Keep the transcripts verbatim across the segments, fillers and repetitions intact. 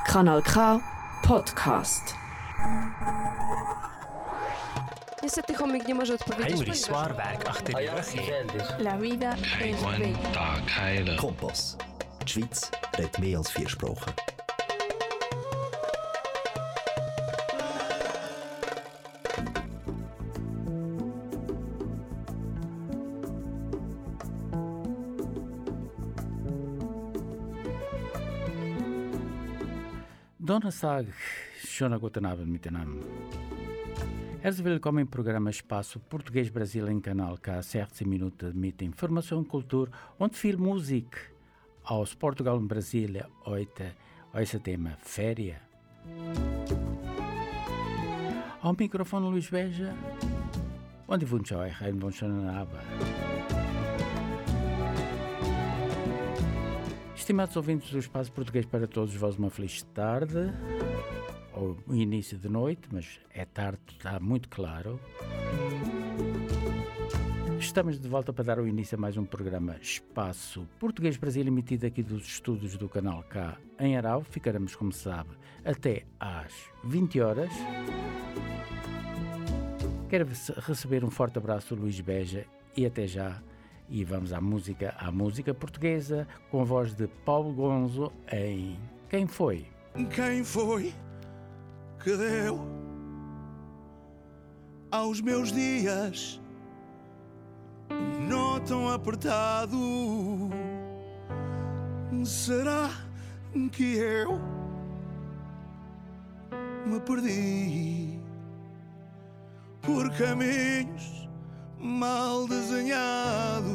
Kanal K Podcast. Niestety chomik nie może odpowiedzieć. Heinrich Zwaarwerk achter die rug. La vida es bella. Tag heilen. Kompass. Die Schweiz redet mehr als vier Sprachen. Donnerstag, schönen guten Abend miteinander. Herzlich willkommen im Programm Espaço Português Brasil em Kanal K, sechzehn Minuten mit Information, Kultur und viel Musik aus Portugal und Brasilien. Heute unser Thema Ferien. Ao microfone Luís Beja, und ich wünsche euch einen wunderschönen Abend. Estimados ouvintes do Espaço Português para todos vós, uma feliz tarde, ou início de noite, mas é tarde, está muito claro. Estamos de volta para dar o início a mais um programa Espaço Português Brasil, emitido aqui dos estúdios do Canal K em Arau. Ficaremos, como se sabe, até às vinte horas. Quero receber um forte abraço do Luís Beja e até já. E vamos à música, à música portuguesa, com a voz de Paulo Gonzo em Quem Foi? Quem foi que deu aos meus dias um nó tão apertado? Será que eu me perdi por caminhos mal desenhados?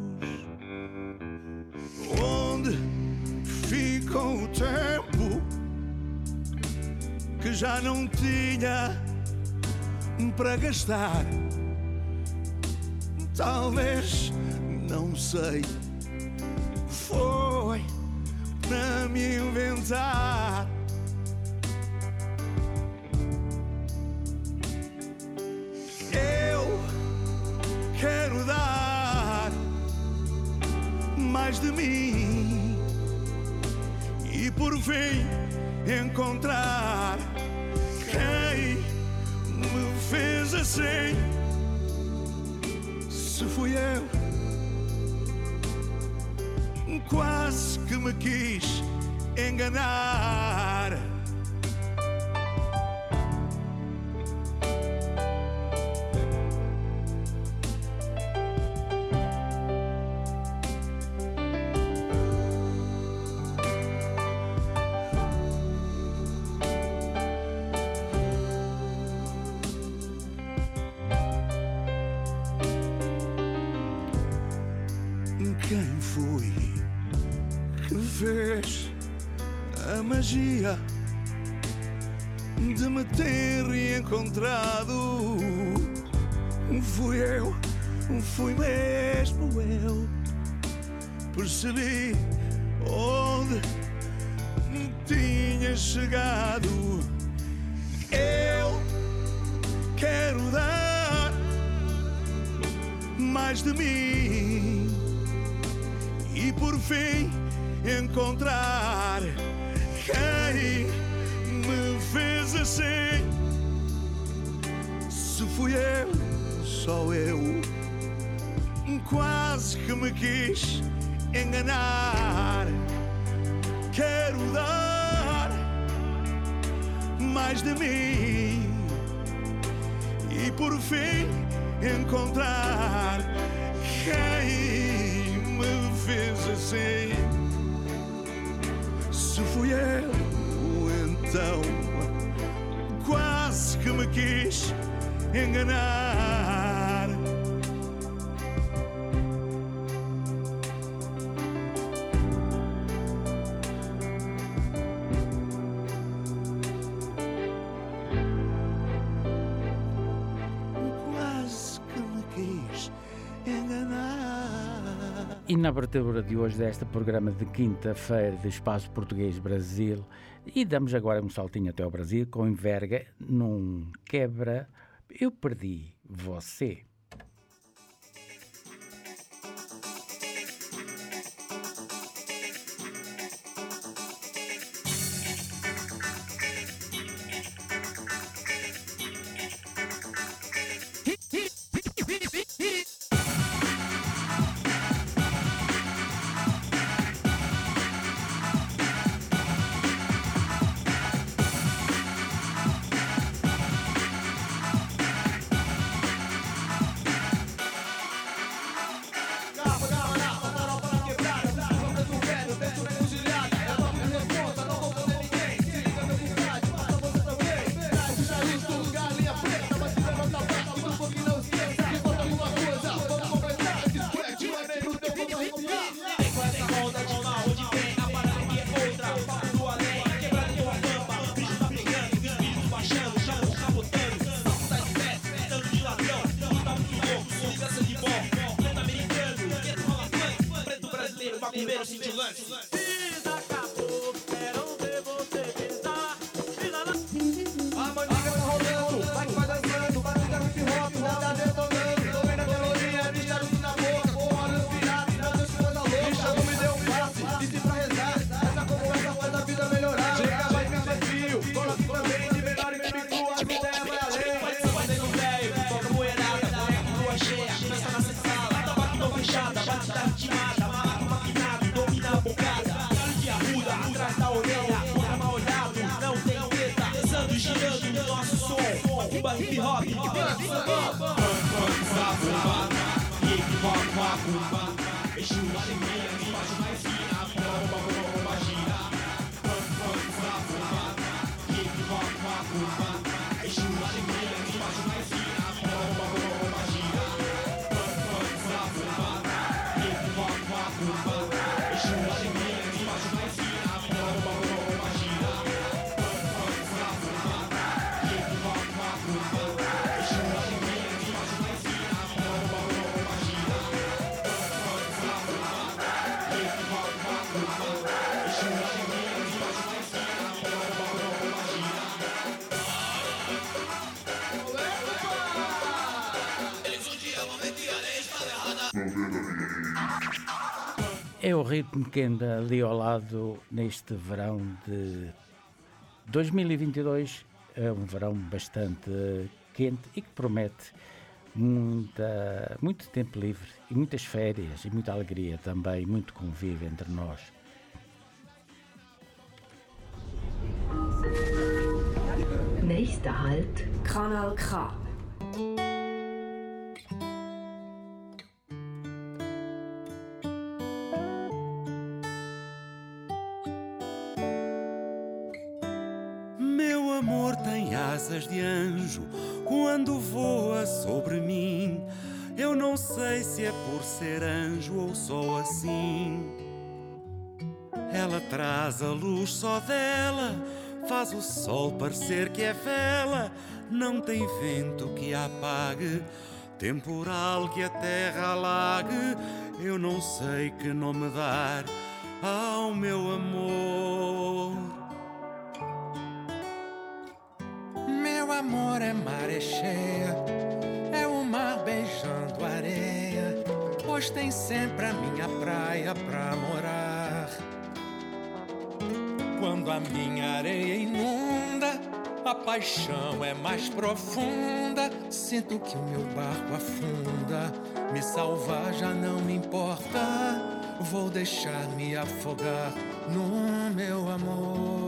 Onde ficou o tempo que já não tinha para gastar? Talvez, não sei, foi para me inventar. Quero dar mais de mim e por fim encontrar quem me fez assim. Se fui eu, quase que me quis enganar. Quem foi que fez a magia de me ter reencontrado? Fui eu, fui mesmo eu. Percebi onde tinha chegado. Eu quero dar mais de mim e por fim encontrar quem me fez assim. Se fui eu, só eu, quase que me quis enganar. Quero dar mais de mim e por fim encontrar quem me fez assim. Se fui eu, então quase que me quis enganar. Quase que me quis enganar. E na abertura de hoje deste programa de quinta-feira de Espaço Português Brasil, e damos agora um saltinho até ao Brasil com Enverga num quebra Eu Perdi Você. Kumba, hip hop, hip hop. Hip hop, kumba. Exu alegria, espaço mais fina, bomba, bomba, gira. Hip hop, kumba. Exu alegria, espaço mais fina, bomba, bomba, gira. Hip hop, kumba. Exu alegria, espaço mais fina, bomba, bomba, gira. Hip hop, kumba. Exu alegria, espaço mais fina, bomba, bomba, gira. É o ritmo que anda ali ao lado neste verão de dois mil e vinte e dois. É um verão bastante quente e que promete muita, muito tempo livre e muitas férias e muita alegria também, muito convívio entre nós. Nächster Halt, Kanal K. Meu amor tem asas de anjo quando voa sobre mim. Eu não sei se é por ser anjo ou só assim. Ela traz a luz só dela, faz o sol parecer que é vela. Não tem vento que a apague, temporal que a terra alague. Eu não sei que nome dar ao meu amor. Meu amor é maré cheia, é o mar beijando areia, pois tem sempre a minha praia pra morar. Quando a minha areia inunda, a paixão é mais profunda. Sinto que o meu barco afunda, me salvar já não me importa. Vou deixar me afogar no meu amor.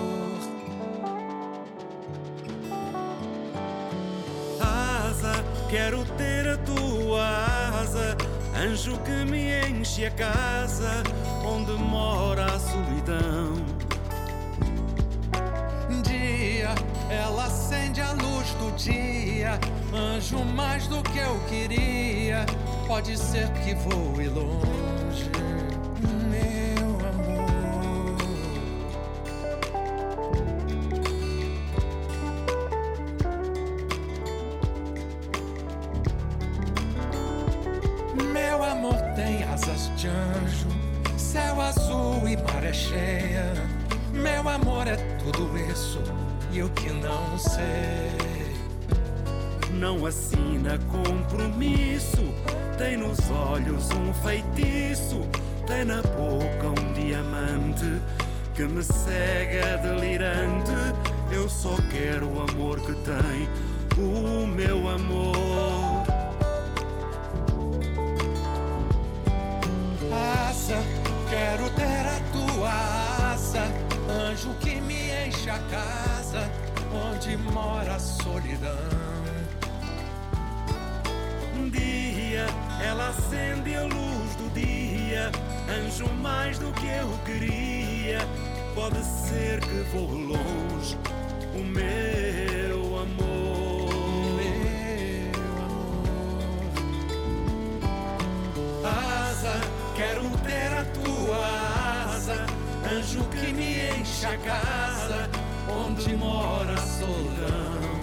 Quero ter a tua asa, anjo que me enche a casa onde mora a solidão. Dia, ela acende a luz do dia, anjo mais do que eu queria. Pode ser que voe longe, meu amor. Meu amor tem asas de anjo, céu azul e maré cheia. Meu amor é tudo isso e eu que não sei. Não assina compromisso, tem nos olhos um feitiço, tem na boca um diamante que me cega delirante. Eu só quero o amor que tem o meu amor. Asa, quero ter a tua asa, anjo que me enche a casa onde mora a solidão. Dia, ela acende a luz do dia, anjo mais do que eu queria. Pode ser que vou longe, o meu amor. Meu amor. Asa, quero ter a tua asa, anjo que me enche a casa onde mora a solidão.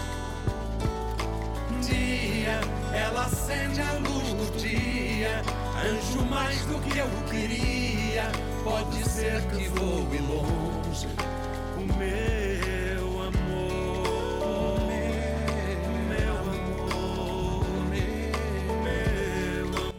Dia, ela acende a luz do dia, anjo mais do que eu queria. Pode ser que voe longe, o meu amor. Meu amor, meu amor,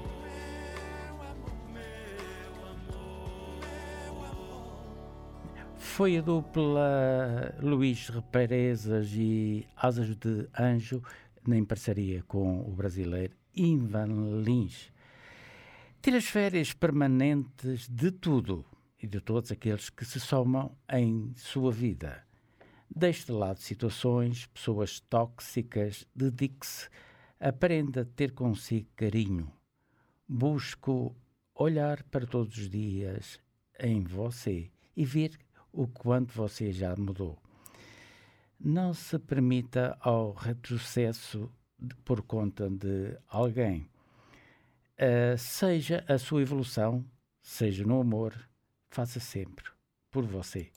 meu amor. Foi a dupla Luís Represas e Asas de Anjo, em parceria com o brasileiro Ivan Lins. Tiras férias permanentes de tudo e de todos aqueles que se somam em sua vida. Deixe de lado situações, pessoas tóxicas, dedique-se, aprenda a ter consigo carinho. Busque olhar para todos os dias em você e ver o quanto você já mudou. Não se permita ao retrocesso de, por conta de alguém. Uh, seja a sua evolução, seja no amor, faça sempre por você.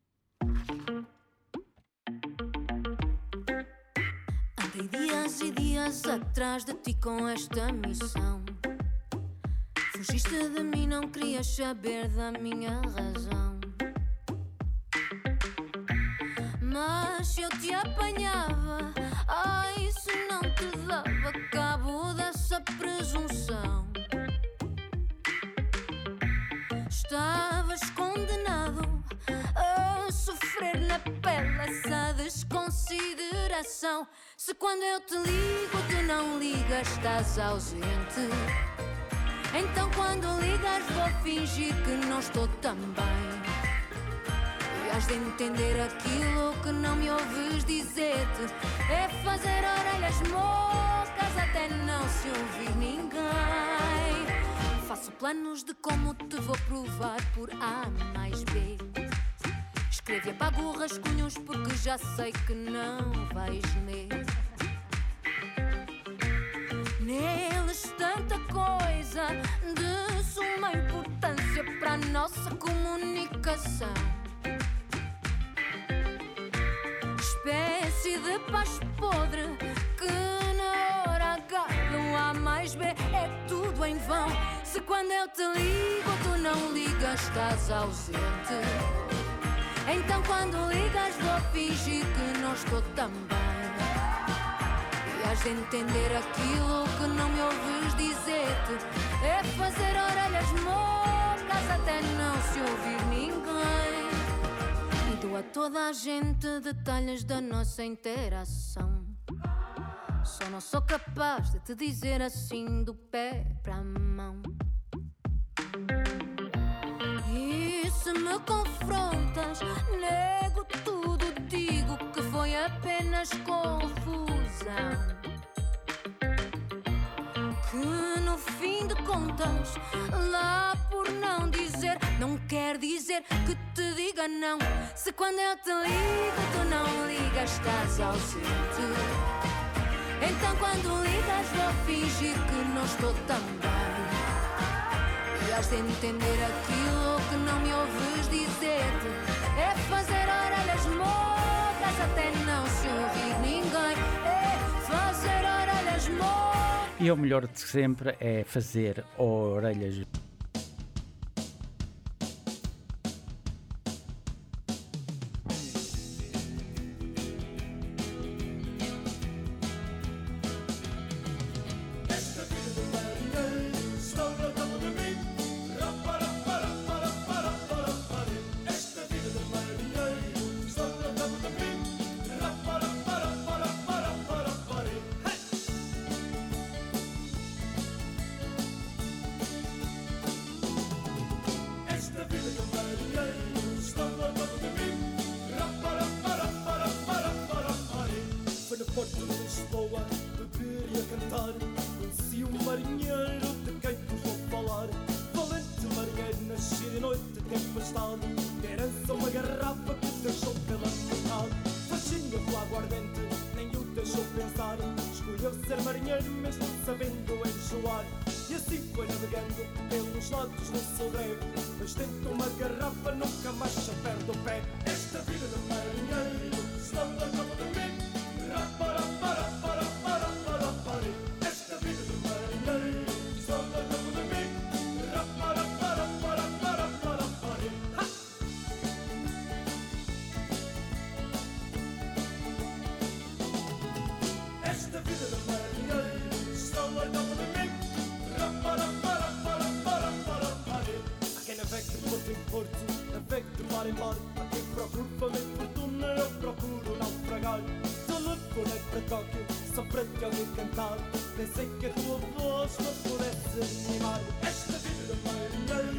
Andei dias e dias atrás de ti com esta missão. Fugiste de mim, não querias saber da minha razão. Mas se eu te apanhava, ai, isso não te dava cabo dessa presunção. Estavas condenado a sofrer na pele essa desconsideração. Se quando eu te ligo tu não ligas, estás ausente. Então quando ligas vou fingir que não estou tão bem. E has de entender aquilo que não me ouves dizer-te. É fazer orelhas mocas até não se ouvir ninguém. Faço planos de como te vou provar por A mais B. Escrevo e apago rascunhos porque já sei que não vais ler. Neles tanta coisa de suma importância para a nossa comunicação. Espécie de paz podre que na hora H do A mais B é tudo em vão. Se quando eu te ligo tu não ligas, estás ausente. Então quando ligas vou fingir que não estou tão bem. E has de entender aquilo que não me ouves dizer-te. É fazer orelhas mocas até não se ouvir ninguém. E dou a toda a gente detalhes da nossa interação. Só não sou capaz de te dizer assim do pé para a mão. E se me confrontas, nego tudo, digo que foi apenas confusão. Que no fim de contas, lá por não dizer, não quer dizer que te diga não. Se quando eu te ligo tu não ligas, estás ausente. Então quando ligas vou fingir que não estou tão bem. E has de entender aquilo que não me ouves dizer-te. É fazer orelhas mocas até não se ouvir ninguém. É fazer orelhas mocas. E o melhor de sempre é fazer orelhas.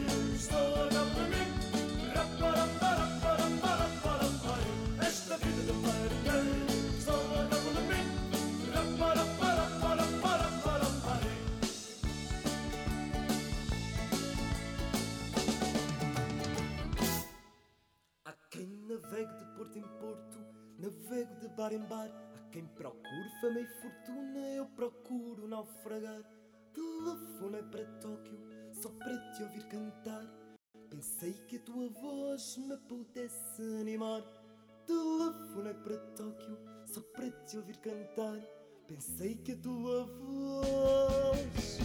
Esta vida porto em porto, navego de bar em bar. Há quem procure fama e fortuna, eu procuro naufragar. Telefonei para Tóquio, só para te ouvir cantar. Pensei que a tua voz me pudesse animar. Telefonei para Tóquio, só para te ouvir cantar. Pensei que a tua voz...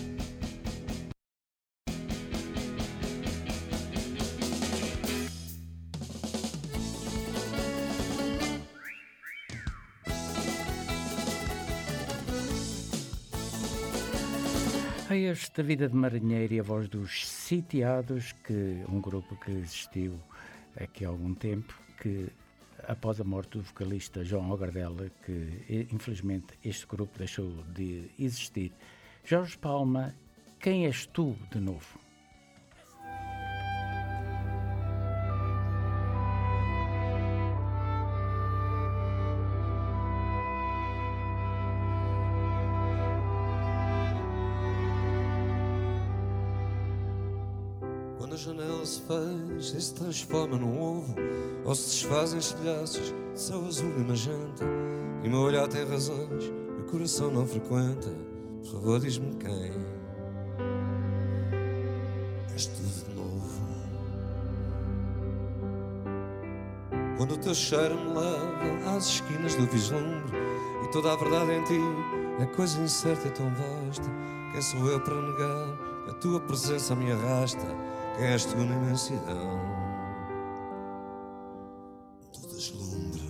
A esta Vida de Marinheiro e a voz dos Sitiados, que um grupo que existiu aqui há algum tempo, que após a morte do vocalista João Ogardela, que infelizmente este grupo deixou de existir. Jorge Palma, Quem és tu de novo? Quando a janela se fecha e se transforma num ovo, ou se desfazem estilhaços de céu azul e magenta, e o meu olhar tem razões e o coração não frequenta, por favor diz-me quem és tu de novo. Quando o teu cheiro me leva às esquinas do vislumbre e toda a verdade em ti é coisa incerta e tão vasta, quem sou eu para negar que a tua presença me arrasta? Quem és tu na imensidão do deslumbre?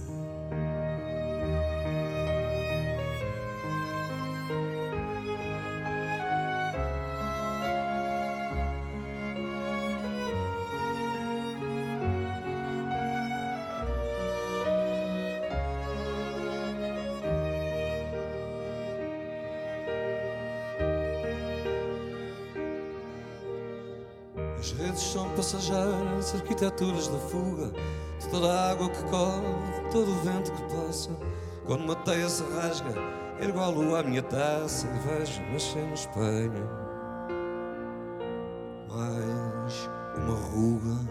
As redes são passageiras, arquiteturas da fuga de toda a água que corre, de todo o vento que passa. Quando uma teia se rasga, ergo a lua à minha taça e vejo nascer no espelho mais uma ruga.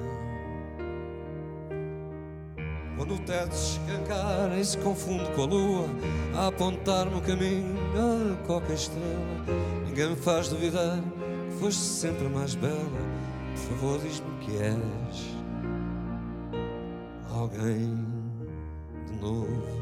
Quando o teto se escancara e se confunde com a lua a apontar-me o caminho a qualquer estrela, ninguém me faz duvidar que foste sempre mais bela. Por favor, diz-me que és alguém de novo.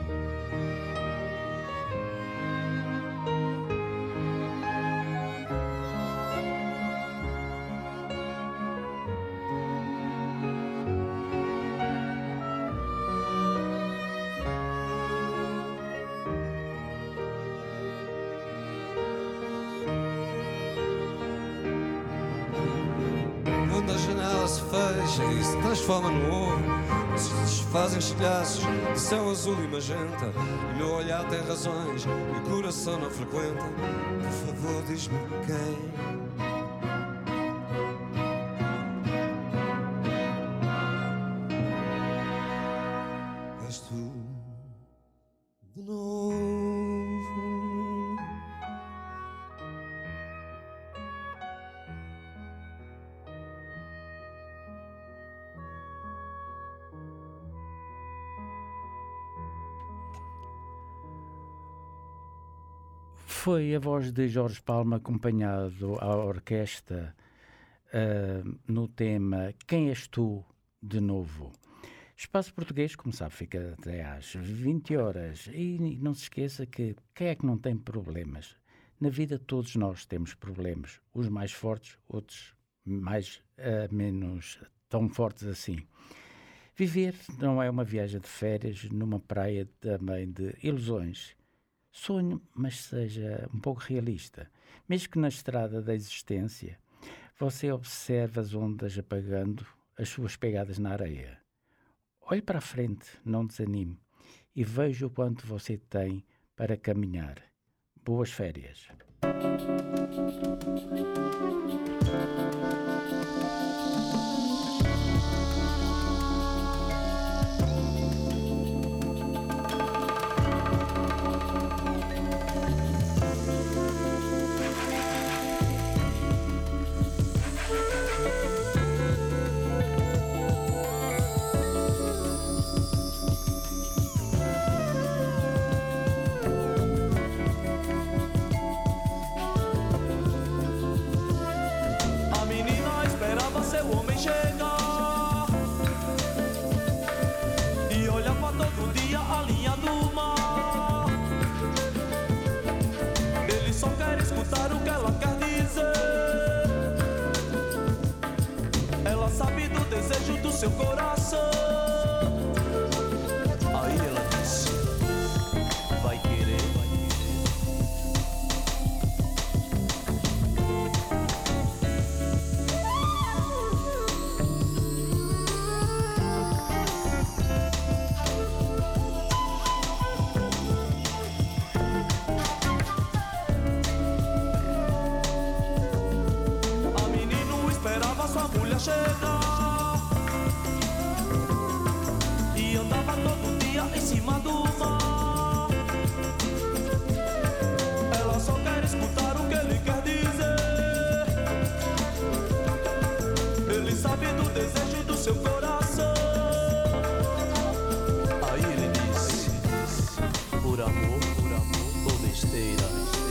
Quando a janela se fecha e se transforma no ovo, se desfazem estilhaços de céu azul e magenta, e o meu olhar tem razões e o coração não frequenta, por favor diz-me quem és tu de novo. Foi a voz de Jorge Palma acompanhado à orquestra uh, no tema Quem és tu de novo? Espaço Português, como sabe, fica até às vinte horas. E não se esqueça que quem é que não tem problemas? Na vida todos nós temos problemas. Uns mais fortes, outros mais uh, menos tão fortes assim. Viver não é uma viagem de férias numa praia também de ilusões. Sonho, mas seja um pouco realista. Mesmo que na estrada da existência, você observa as ondas apagando as suas pegadas na areia. Olhe para a frente, não desanime, e veja o quanto você tem para caminhar. Boas férias. do desejo do seu coração. Aí ela disse: vai querer, vai chegar e andava todo dia em cima do mar. Ela só quer escutar o que ele quer dizer. Ele sabe do desejo do seu coração. Aí ele disse: por amor, por amor ou besteira.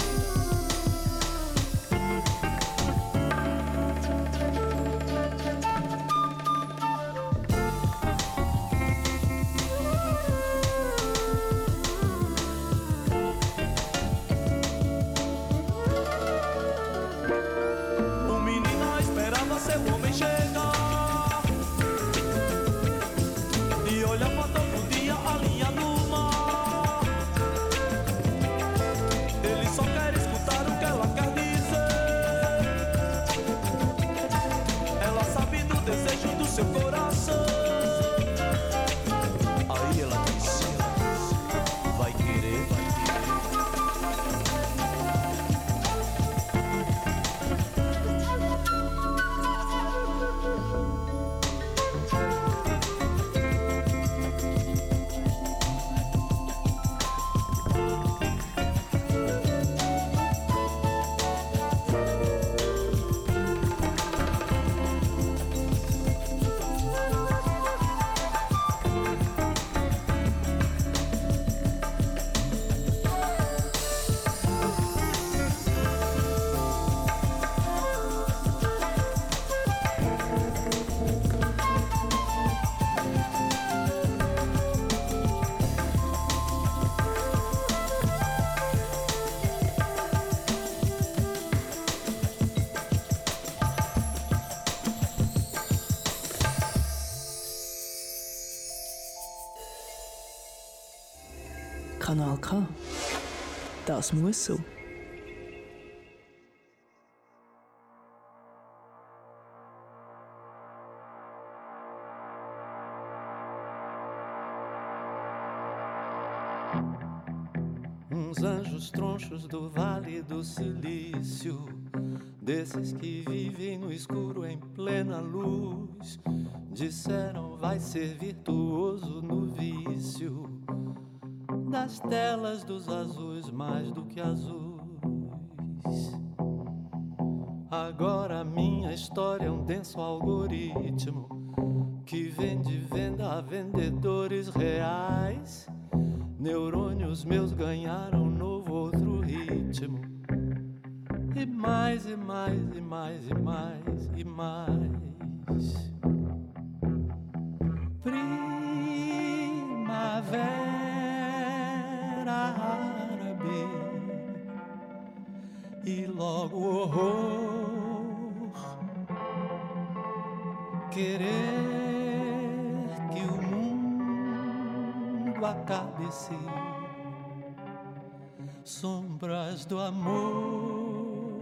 Kanal K. Das muss so. Uns anjos tronchos do Vale do Silício, desses que vivem no escuro em plena luz, disseram vai ser virtuoso no vício das telas dos azuis mais do que azuis. Agora minha história é um denso algoritmo que vende venda a vendedores reais. Neurônios meus ganharam um novo outro ritmo. E mais, e mais, e mais, e mais, e mais. Primavera árabe e logo horror. Querer que o mundo acabe-se. Sombras do amor.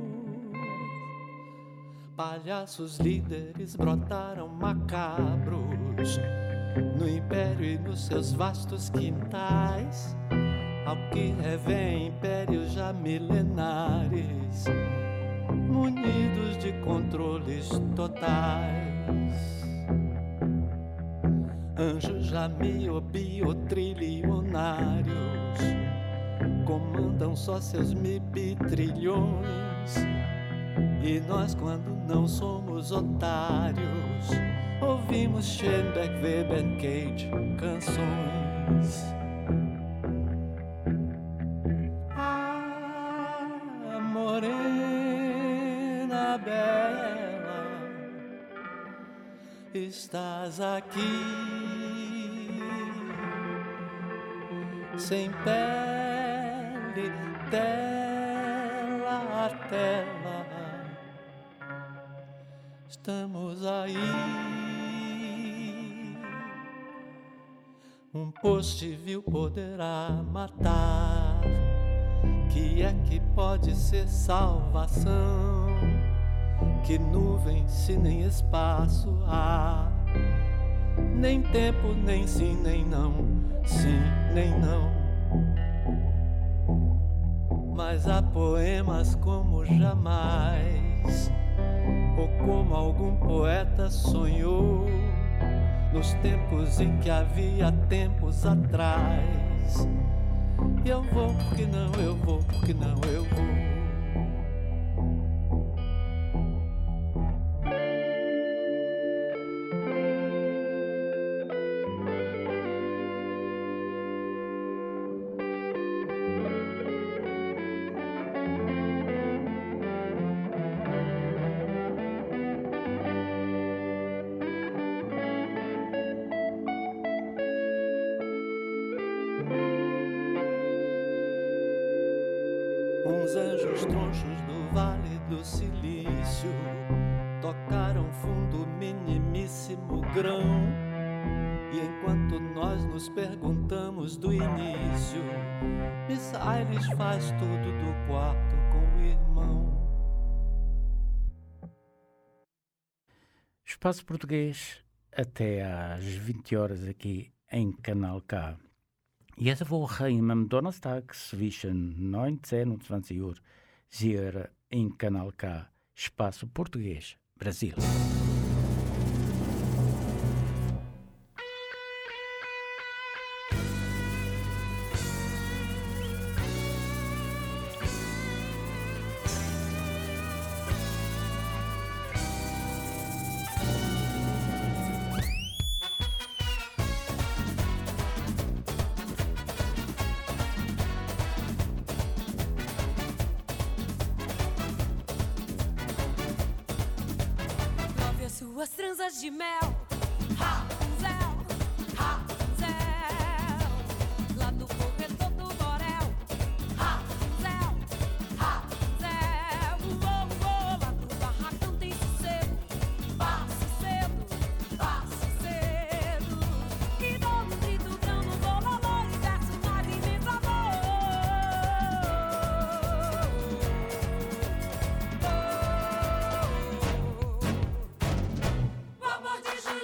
Palhaços líderes brotaram macabros no império e nos seus vastos quintais, ao que revém impérios já milenares, munidos de controles totais. Anjos já miobio-trilionários comandam só seus mib-trilhões, e nós, quando não somos otários, ouvimos Schoenberg, Weber, Cage, canções. Ah, morena bela, estás aqui, sem pele, tela a tela, estamos aí. um poste vil poderá matar. Que é que pode ser salvação? Que nuvem se nem espaço há? Nem tempo, nem sim, nem não. Sim, nem não. Mas há poemas como jamais, ou como algum poeta sonhou, nos tempos em que havia tempos atrás. E eu vou, porque não, eu vou, porque não, eu vou. Uns anjos tronchos do Vale do Silício tocaram fundo minimíssimo grão. E enquanto nós nos perguntamos do início, Miss Aires faz tudo do quarto com o irmão. Espaço Português até às vinte horas aqui em Kanal K. Jetzt Woche im Donnerstag zwischen neunzehn und zwanzig Uhr hier in Kanal K, Espaço Português, Brasil. Suas tranças de mel, Rapunzel, Rapunzel, lá no corredor do borel, Rapunzel, Rapunzel, uou, uou, lá no barracão tem sossego, passe cedo, passe cedo, e dou um grito grão no bololô e desce mais imenso amor. Vovô de Julieta.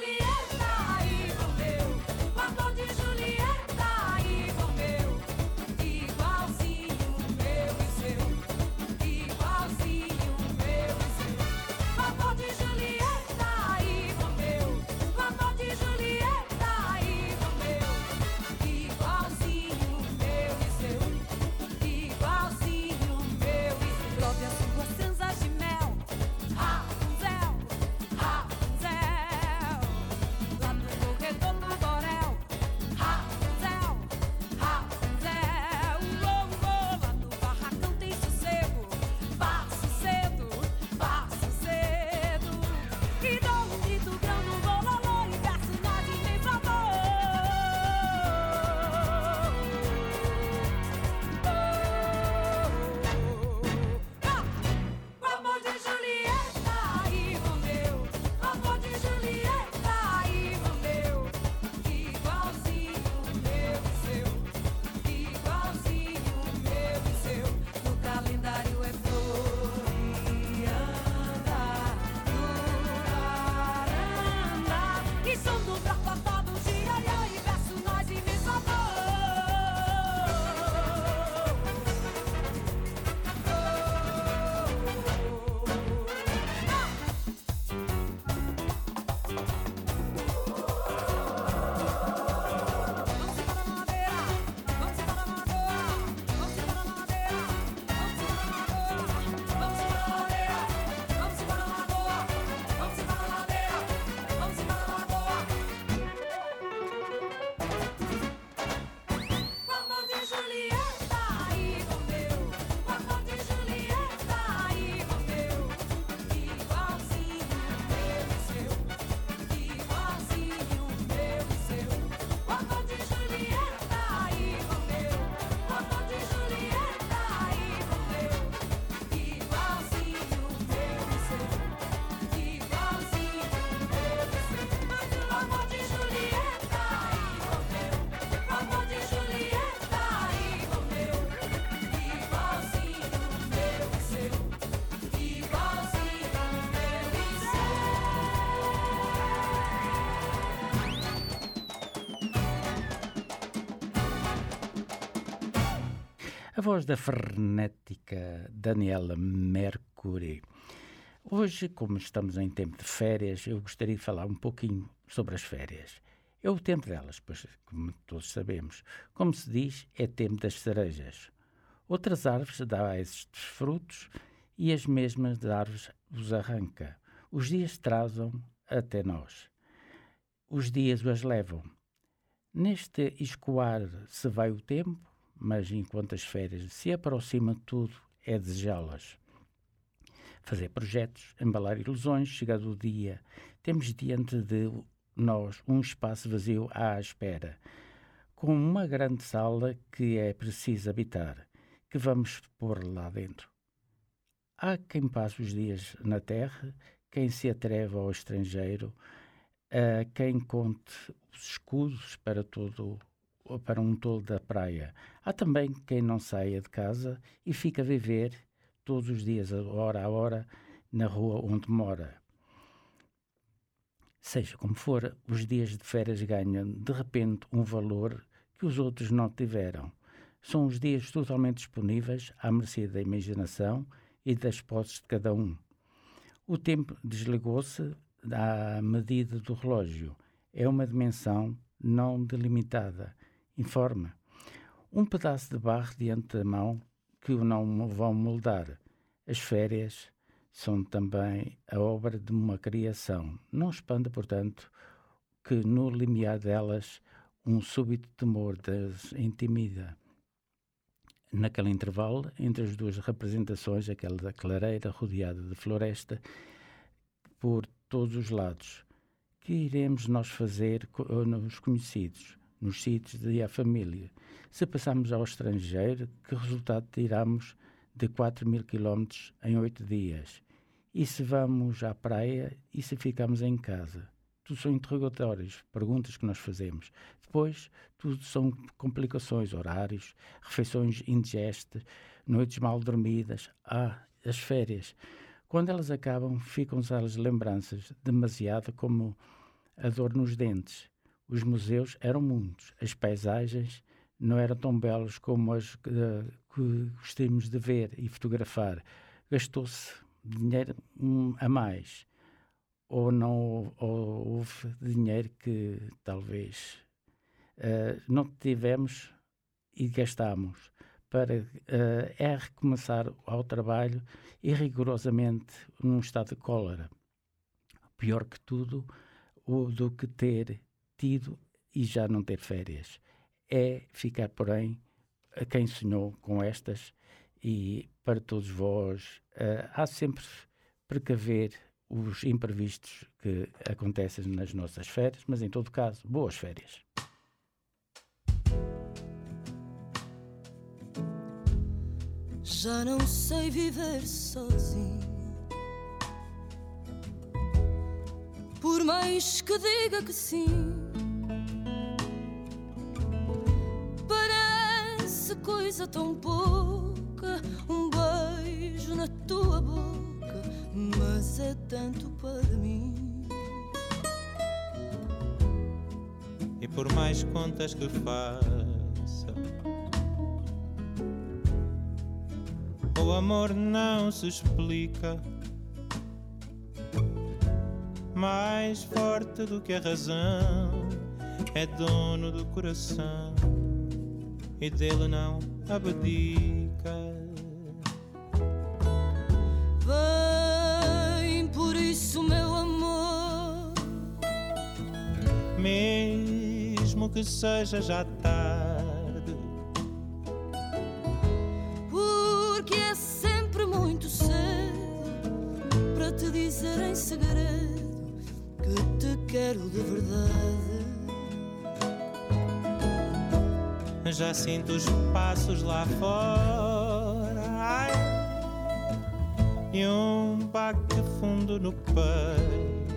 A voz da frenética Daniela Mercury. Hoje, como estamos em tempo de férias, eu gostaria de falar um pouquinho sobre as férias. É o tempo delas, pois, como todos sabemos. Como se diz, é tempo das cerejas. Outras árvores dão estes frutos e as mesmas árvores os arranca. Os dias trazem até nós. Os dias os levam. Neste escoar se vai o tempo, mas enquanto as férias se aproximam, tudo é desejá-las. Fazer projetos, embalar ilusões, chegado o dia, temos diante de nós um espaço vazio à espera, com uma grande sala que é preciso habitar, que vamos pôr lá dentro. Há quem passe os dias na terra, quem se atreva ao estrangeiro, a quem conte os escudos para, todo, para um tolo da praia. Há também quem não saia de casa e fica a viver todos os dias, hora a hora, na rua onde mora. Seja como for, os dias de férias ganham, de repente, um valor que os outros não tiveram. São os dias totalmente disponíveis à mercê da imaginação e das posses de cada um. O tempo desligou-se à medida do relógio. É uma dimensão não delimitada. Informa. Um pedaço de barro diante da mão que o não vão moldar. As férias são também a obra de uma criação. Não espanta, portanto, que no limiar delas um súbito temor das intimida. Naquele intervalo, entre as duas representações, aquela da clareira rodeada de floresta, por todos os lados, que iremos nós fazer nos conhecidos, nos sítios e a família? Se passarmos ao estrangeiro, que resultado tiramos de quatro mil quilómetros em oito dias? E se vamos à praia e se ficamos em casa? Tudo são interrogatórios, perguntas que nós fazemos. Depois, tudo são complicações, horários, refeições indigestas, noites mal dormidas. Ah, as férias. Quando elas acabam, ficam-se as lembranças, demasiado como a dor nos dentes. Os museus eram muitos, as paisagens não eram tão belos como as que, que gostamos de ver e fotografar. Gastou-se dinheiro um, a mais. Ou não ou houve dinheiro que talvez uh, não tivemos e gastámos para uh, é recomeçar ao trabalho e rigorosamente num estado de cólera. Pior que tudo o, do que ter tido e já não ter férias. É ficar, porém, a quem sonhou com estas e para todos vós uh, há sempre precaver os imprevistos que acontecem nas nossas férias, mas em todo caso, boas férias. Já não sei viver sozinho, por mais que diga que sim. Parece coisa tão pouca, um beijo na tua boca, mas é tanto para mim. E por mais contas que faça, o amor não se explica. Mais forte do que a razão, é dono do coração e dele não abdica. Vem, por isso, meu amor, mesmo que seja já tarde, porque é sempre muito cedo para te dizer em segredo que te quero de verdade. Já sinto os passos lá fora, ai, e um baque fundo no peito.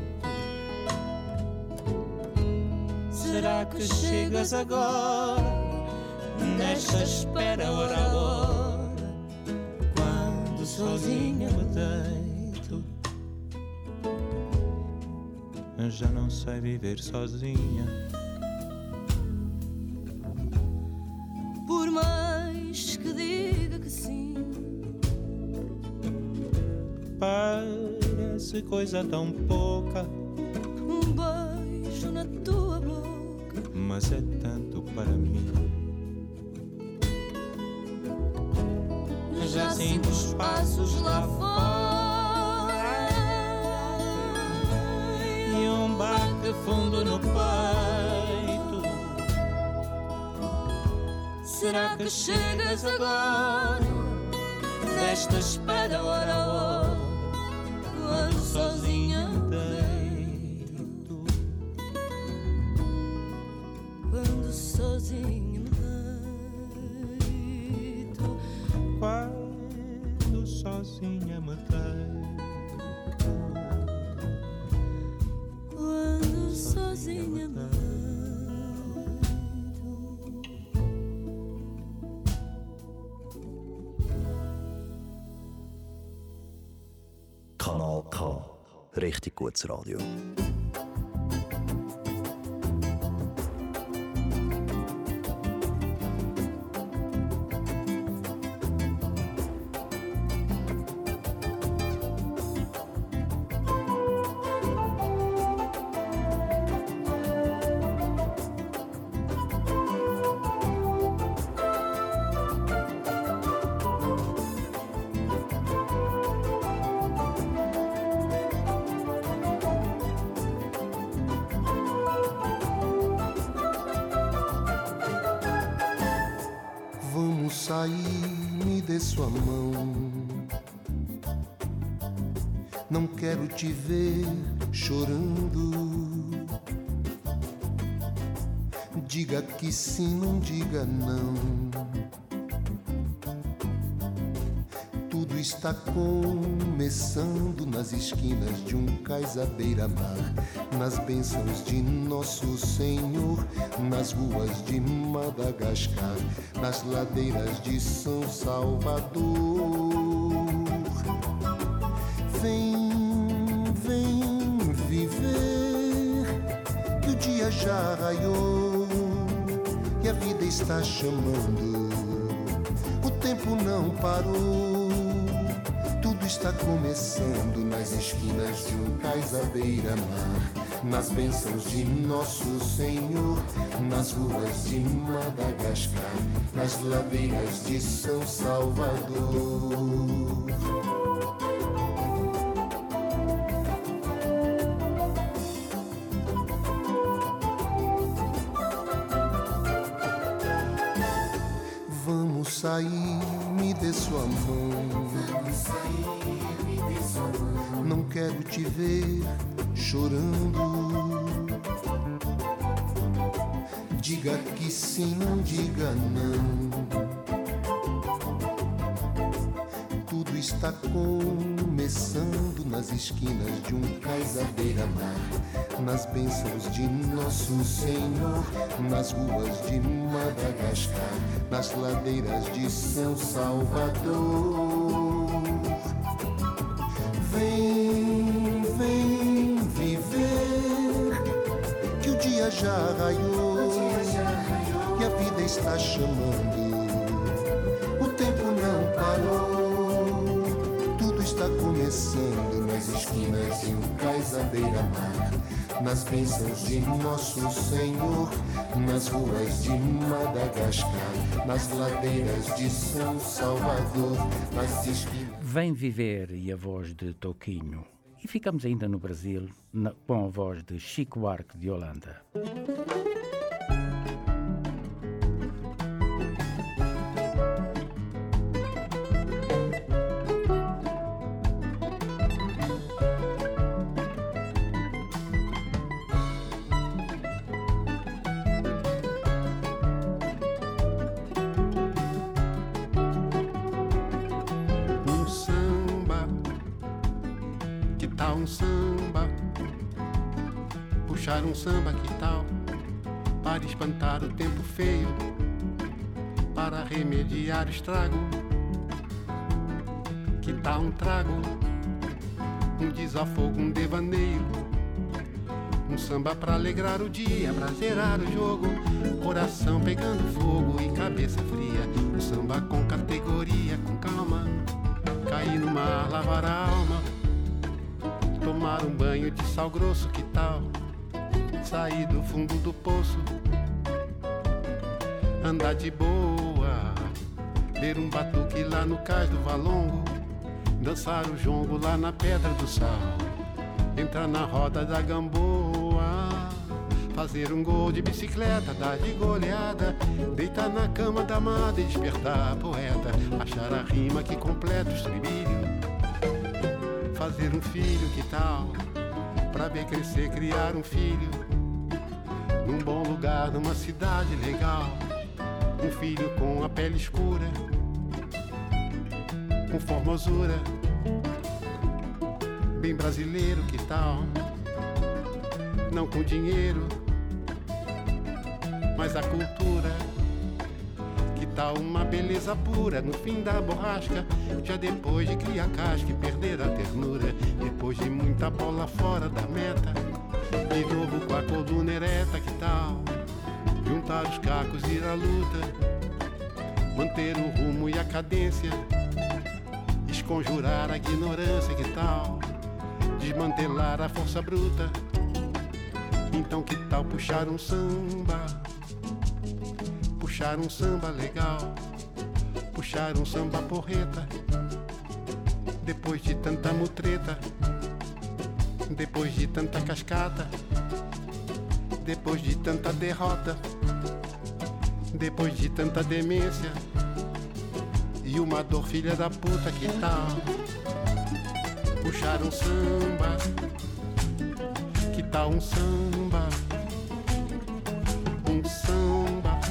Será que chegas agora, nesta espera hora a hora, quando sozinha me deito? Já não sei viver sozinha. Por mais que diga fosse coisa tão pouca. Um beijo na tua boca, mas é tanto para mim. Já sinto os passos lá fora e um bate fundo no peito. Será que chegas agora, desta espera hora a hora, quando sozinha me deito, quando sozinha me deito, quando sozinha me deito, quando sozinha me deito. Kanal K. Richtig gutes Radio. Me dê sua mão. Não quero te ver chorando. Diga que sim, não diga não. Tudo está começando nas esquinas de um cais à beira-mar, nas bênçãos de Nosso Senhor, nas ruas de Madagascar, nas ladeiras de São Salvador. Vem, vem viver, que o dia já raiou e a vida está chamando. O tempo não parou, tudo está começando nas esquinas de um cais à beira-mar, nas bênçãos de Nosso Senhor, nas ruas de Madagascar, nas ladeiras de São Salvador. Vamos sair, me dê sua mão. Vamos sair, me dê sua mão. Não quero te ver chorando. Diga que sim, não diga não. Tudo está começando nas esquinas de um cais à beira-mar, nas bênçãos de Nosso Senhor, nas ruas de Madagascar, nas ladeiras de São Salvador. Vem, vem viver, que o dia já raiou e a vida está chamando. O tempo não parou, tudo está começando nas esquinas de um cais à beira-mar, nas bênçãos de Nosso Senhor, nas ruas de Madagascar, nas ladeiras de São Salvador, nas esquinas. Vem Viver e a voz de Toquinho. E ficamos ainda no Brasil na, com a voz de Chico Buarque de Holanda. Um samba, que tal? Para espantar o tempo feio, para remediar o estrago. Que tal um trago, um desafogo, um devaneio, um samba pra alegrar o dia, pra zerar o jogo, coração pegando fogo e cabeça fria. Um samba com categoria, com calma, cair no mar, lavar a alma, tomar um banho de sal grosso, que tal? Sair do fundo do poço, andar de boa, ler um batuque lá no cais do Valongo, dançar o jongo lá na Pedra do Sal, entrar na roda da Gamboa, fazer um gol de bicicleta, dar de goleada, deitar na cama da amada e despertar a poeta, achar a rima que completa o estribilho, fazer um filho, que tal? Pra ver crescer, criar um filho, num bom lugar, numa cidade legal, um filho com a pele escura, com formosura, bem brasileiro, que tal? Não com dinheiro, mas a cultura. Que tal uma beleza pura no fim da borrasca, já depois de criar casca e perder a ternura, depois de muita bola fora da meta, de novo com a coluna ereta, que tal? Juntar os cacos e ir à luta, manter o rumo e a cadência, esconjurar a ignorância, que tal? Desmantelar a força bruta. Então que tal puxar um samba, puxar um samba legal, puxar um samba porreta, depois de tanta mutreta, depois de tanta cascata, depois de tanta derrota, depois de tanta demência e uma dor filha da puta, que tal? Puxar um samba, que tal um samba, um samba.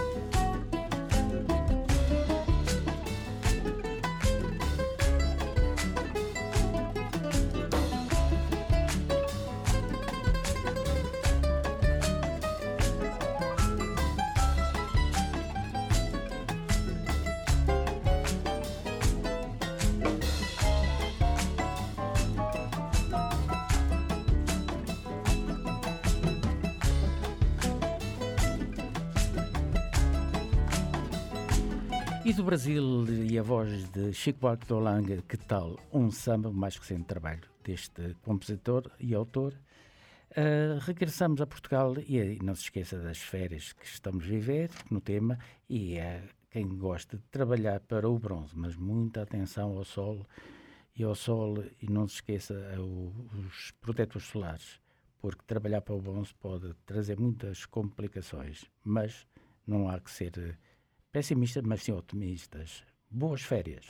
E do Brasil e a voz de Chico Buarque de Holanda, que tal um samba, o mais recente trabalho deste compositor e autor. Uh, regressamos a Portugal e não se esqueça das férias que estamos a viver no tema, e é quem gosta de trabalhar para o bronze, mas muita atenção ao sol e ao sol, e não se esqueça o, os protetores solares, porque trabalhar para o bronze pode trazer muitas complicações, mas não há que ser pessimistas, mas sim otimistas. Boas férias!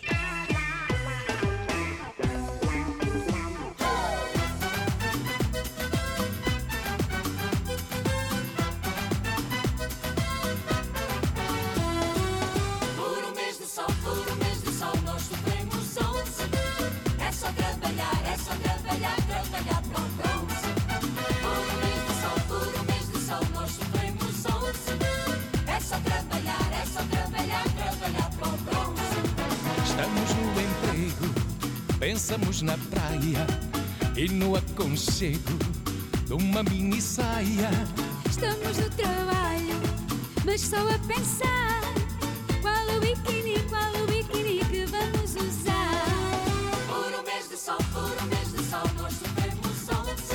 Por um mês de sol, por um mês de sol, nós sofremos onze. É só trabalhar, é só trabalhar, trabalhar para o bronze. Por um mês de sol, por um mês de sol, nós sofremos onze. É só trabalhar, é só trabalhar, trabalhar para o bronze. Estamos no emprego, pensamos na praia e no aconchego de uma mini saia. Estamos no trabalho, mas só a pensar qual o biquíni, qual o biquíni que vamos usar. Por um mês de sol, por um mês de sol, nós sofremos onze.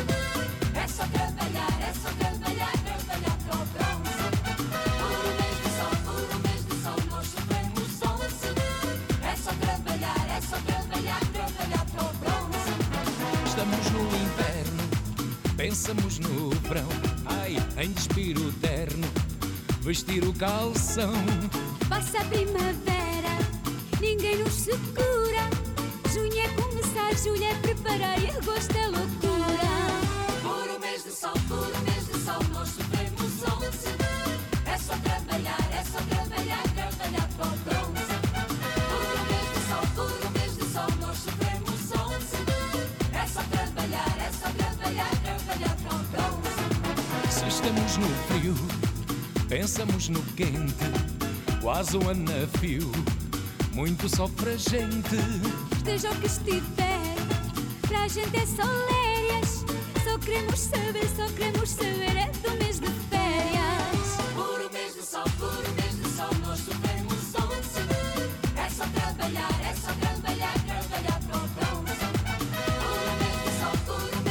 É só trabalhar, é só trabalhar, trabalhar para o bronze. Por um mês de sol, por um mês de sol, nós sofremos onze. É só trabalhar, é só trabalhar, trabalhar para o bronze. Estamos no inverno, pensamos no verão. Ai, em despir o terno, vestir o calção. Passa a primavera, ninguém nos segura. Junho é começar, julho é preparar e agosto é loucura. Por um mês de sol, por um mês de sol, nós sofremos onze. É só trabalhar, é só trabalhar, trabalhar para o bronze. Por um mês de sol, por um mês de sol, nós sofremos onze. É só trabalhar, é só trabalhar, trabalhar para o bronze. Se estamos no frio, pensamos no quente, quase um ano a fio, muito sol para a gente. Esteja o que estiver, para a gente é só lérias. Só queremos saber, só queremos saber é do mês de férias. Por um mês de sol, por um mês de sol, nós sofremos onze. É só trabalhar, é só trabalhar, trabalhar para o bronze. Por um mês de sol, por um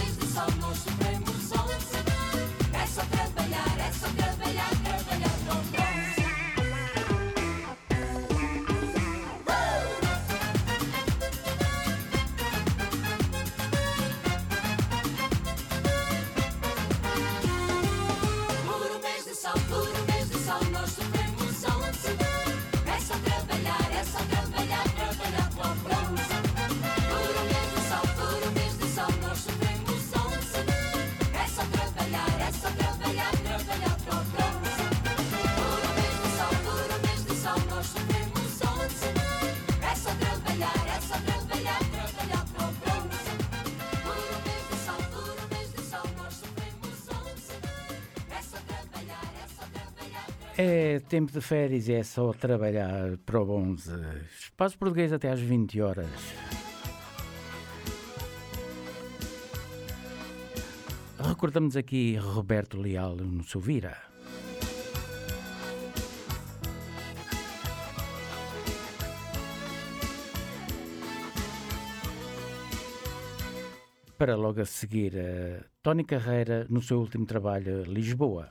É tempo de férias e é só trabalhar para o onze. Espaço Português até às vinte horas. Recordamos aqui Roberto Leal no Suvira. Para logo a seguir, a Tony Carreira no seu último trabalho, Lisboa.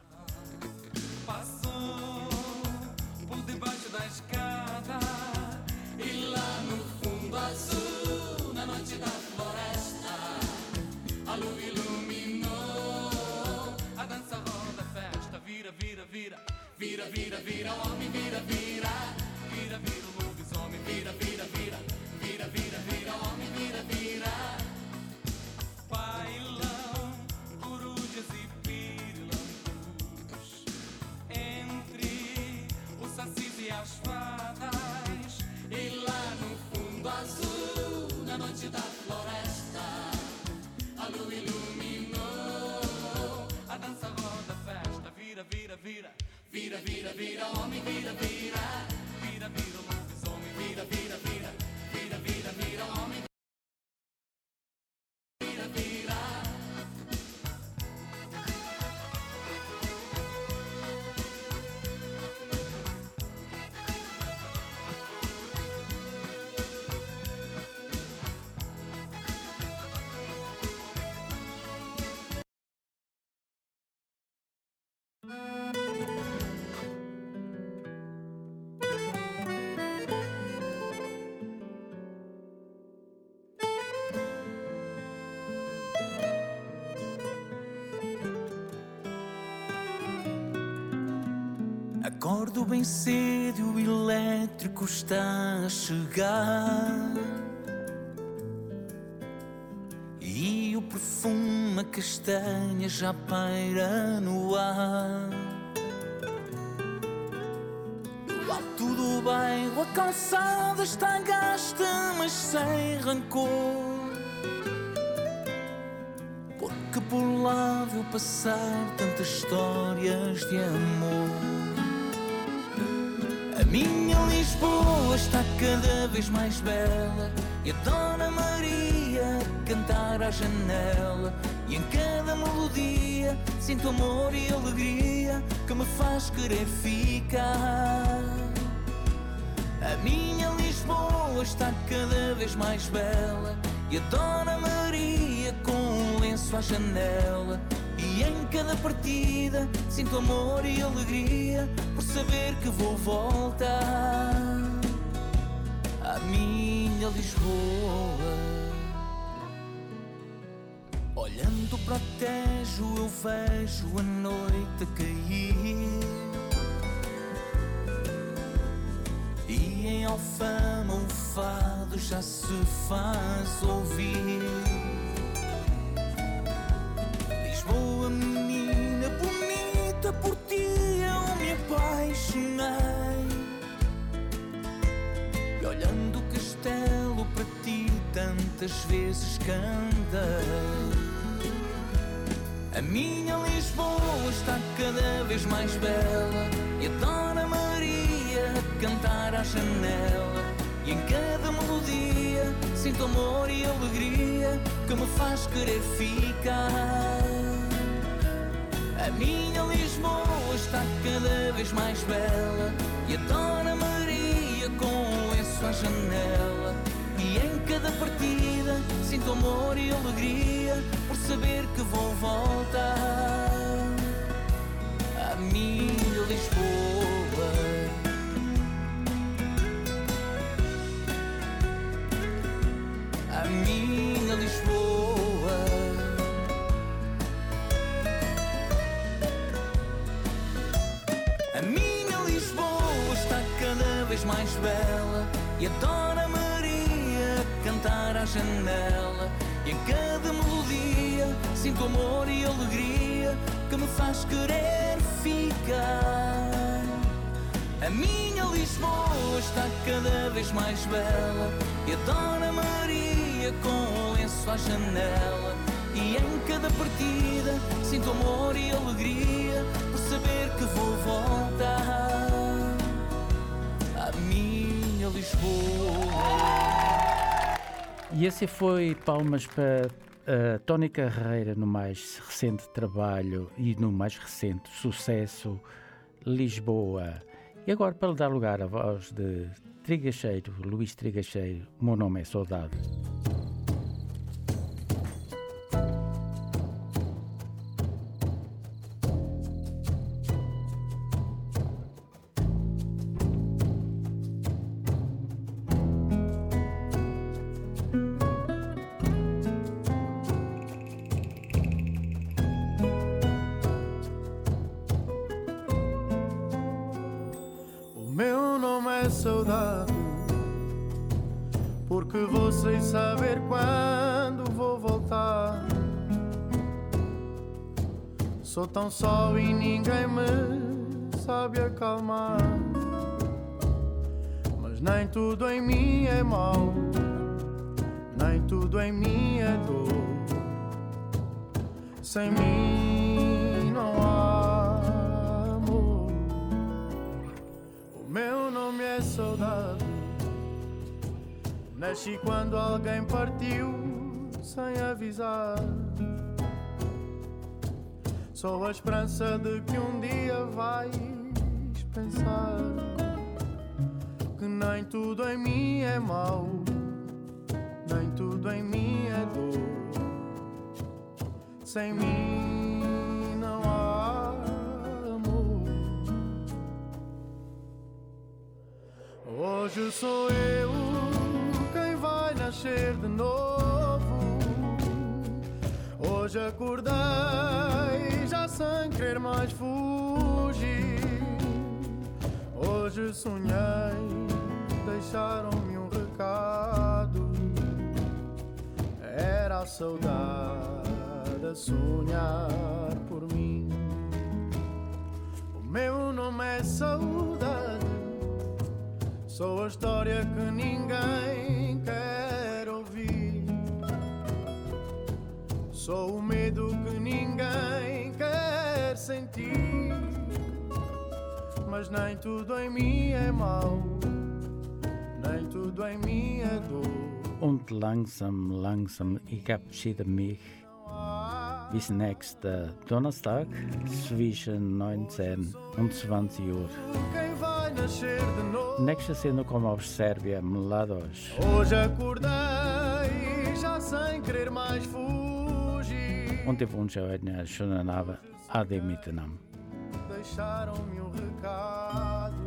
Passou por debaixo da escada e lá no fundo azul, na noite da floresta, a lua iluminou a dança, roda, festa, vira, vira, vira, vira, vira, vira, homem, vira, vira, vira, vira, o lobisomem, vira, vira, vira, vira, vira, vira, homem, vira, vira. Bailão, corujas e pirilampus, entre os sacis e as fadas, e lá no fundo azul, na noite da floresta, a lua iluminou a dança, roda, festa, vira, vira, vira, vira, vira, vira, homem, vira, vira, vira, vira, lobisomem, vira, vira, vira, vira, vira, vira, homem. Acordo bem cedo e o elétrico está a chegar, e o perfume a castanha já paira no ar. No alto do bairro a calçada está gasta, mas sem rancor, porque por lá viu passar tantas histórias de amor. A minha Lisboa está cada vez mais bela, e a Dona Maria a cantar à janela, e em cada melodia sinto amor e alegria que me faz querer ficar. A minha Lisboa está cada vez mais bela, e a Dona Maria com um lenço à janela, e em cada partida sinto amor e alegria por saber que vou voltar à minha Lisboa. Olhando para o Tejo eu vejo a noite a cair, e em Alfama o fado já se faz ouvir. Lisboa, menina bonita, por ti eu me apaixonei, e olhando o castelo para ti tantas vezes cantei. A minha Lisboa está cada vez mais bela, e a Dona Maria a cantar à janela, e em cada melodia sinto amor e alegria que me faz querer ficar. A minha Lisboa está cada vez mais bela, e a Dona Maria com um lenço à janela, e em cada partida sinto amor e alegria por saber que vou voltar à minha Lisboa. A minha Lisboa. A minha Lisboa está cada vez mais bela, e a Dona Maria a cantar à janela, e em cada melodia sinto amor e alegria que me faz querer ficar. A minha Lisboa está cada vez mais bela, e a Dona Maria com um lenço à janela, e em cada partida sinto amor e alegria por saber que vou voltar E esse foi palmas para uh, Tony Carreira no mais recente trabalho e no mais recente sucesso, Lisboa. E agora, para dar lugar à voz de Trigacheiro, Luís Trigacheiro, o meu nome é Saudade. Saudade, porque vou sem saber quando vou voltar. Sou tão só e ninguém me sabe acalmar. Mas nem tudo em mim é mau, nem tudo em mim é dor. Sem mim não há amor. O meu nome é saudade. Nasci quando alguém partiu sem avisar. Sou a esperança de que um dia vais pensar que nem tudo em mim é mau, nem tudo em mim é dor. Sem mim não há amor. Hoje sou eu quem vai nascer de novo. Hoje acordei já sem querer mais fugir. Hoje sonhei, deixaram-me um recado. Era a saudade a sonhar por mim. O meu nome é saudade. Sou a história que ninguém quer ouvir. Sou o medo que ninguém quer sentir. Mas nem tudo em mim é mau, nem tudo em mim é dor. Und langsam, langsam, ich verabschiede mich. Bis nächsten Donnerstag zwischen neunzehn und zwanzig Uhr. Nächste Sendung kommt aus Serbien, Mladoš. Hoje acordei já sem querer mais fugir. Und ich wünsche euch einen schönen Abend. Ade miteinander. Deixaram-me um recado.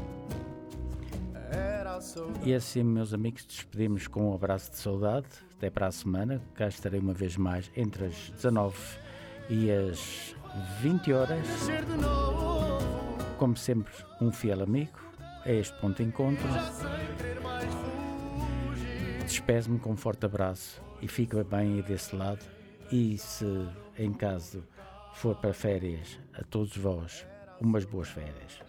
Era a saudade. E assim, meus amigos, despedimos com um abraço de saudade. Até para a semana. Cá estarei uma vez mais entre as dezanove e as vinte horas. Como sempre, um fiel amigo. É este ponto de encontro. Despeço-me com um forte abraço e fica bem aí desse lado. E se em caso for para férias, a todos vós, umas boas férias.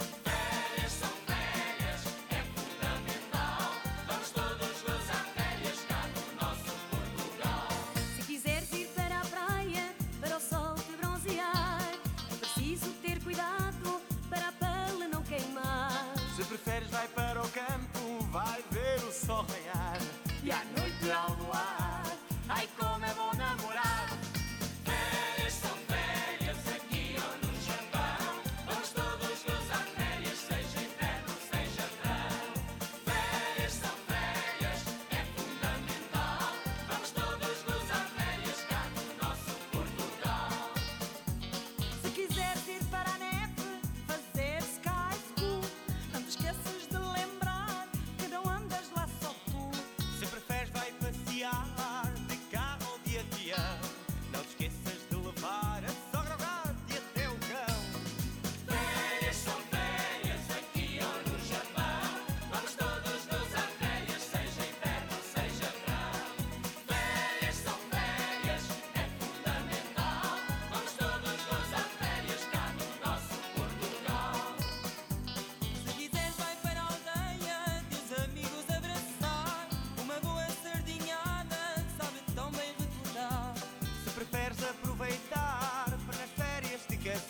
Férias são férias, é fundamental. Vamos todos gozar férias.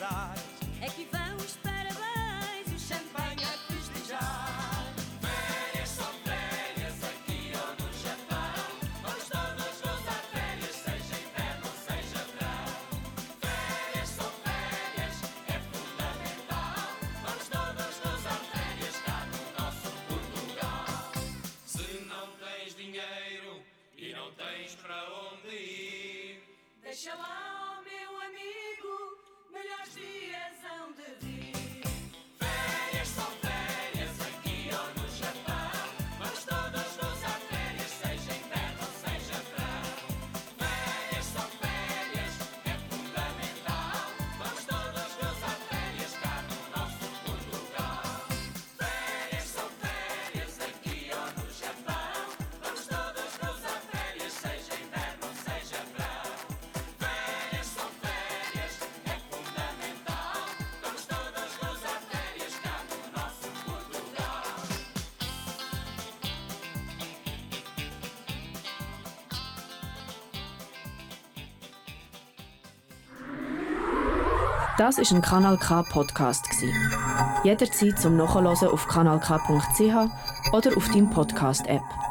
felicidade. É que vão os parabéns e o champanhe a festejar. Férias são férias aqui ou no Japão. Vamos todos gozar férias, seja inverno, seja verão. Férias são férias, é fundamental. Vamos todos gozar férias cá no nosso Portugal. Se não tens dinheiro e não tens para onde ir, Deixa lá, oh meu amigo, melhores dias hão de vir. férias são férias aqui ou no Japão. Vamos todos gozar férias, seja inverno, seja verão. Férias são férias, é fundamental. Vamos todos gozar férias cá no nosso Portugal. Férias são férias aqui ou no Japão. Vamos todos gozar férias, seja inverno, seja verão. Férias são férias, é fundamental. Vamos todos gozar férias cá no nosso Portugal. Das ist ein Kanal K Podcast gsi. Jederzeit zum Nachhören auf kanal k punkt c h oder auf deinem Podcast App.